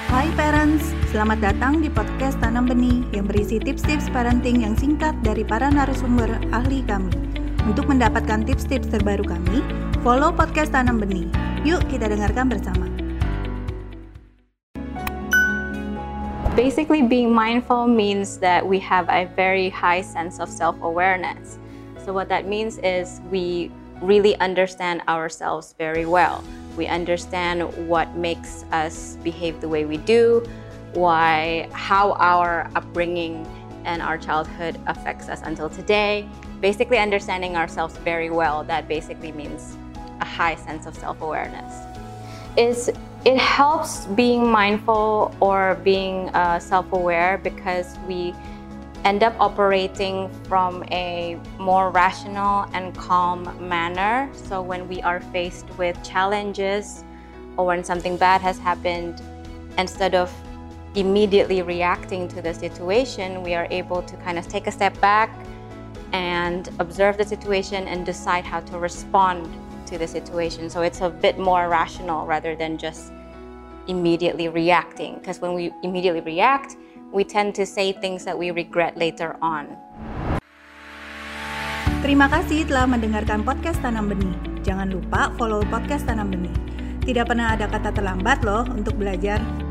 Hai parents, selamat datang di podcast Tanam Benih yang berisi tips-tips parenting yang singkat dari para narasumber ahli kami. Untuk mendapatkan tips-tips terbaru kami, follow podcast Tanam Benih. Yuk kita dengarkan bersama. Basically, being mindful means that we have a very high sense of self-awareness. So what that means is we really understand ourselves very well. We understand what makes us behave the way we do, how our upbringing and our childhood affects us until today. Basically understanding ourselves very well, that basically means a high sense of self-awareness. It helps being mindful or being self-aware because we end up operating from a more rational and calm manner. So when we are faced with challenges or when something bad has happened, instead of immediately reacting to the situation, we are able to kind of take a step back and observe the situation and decide how to respond to the situation. So it's a bit more rational rather than just immediately reacting. Because when we immediately react, we tend to say things that we regret later on. Terima kasih telah mendengarkan podcast Tanam Benih. Jangan lupa follow podcast Tanam Benih. Tidak pernah ada kata terlambat loh untuk belajar.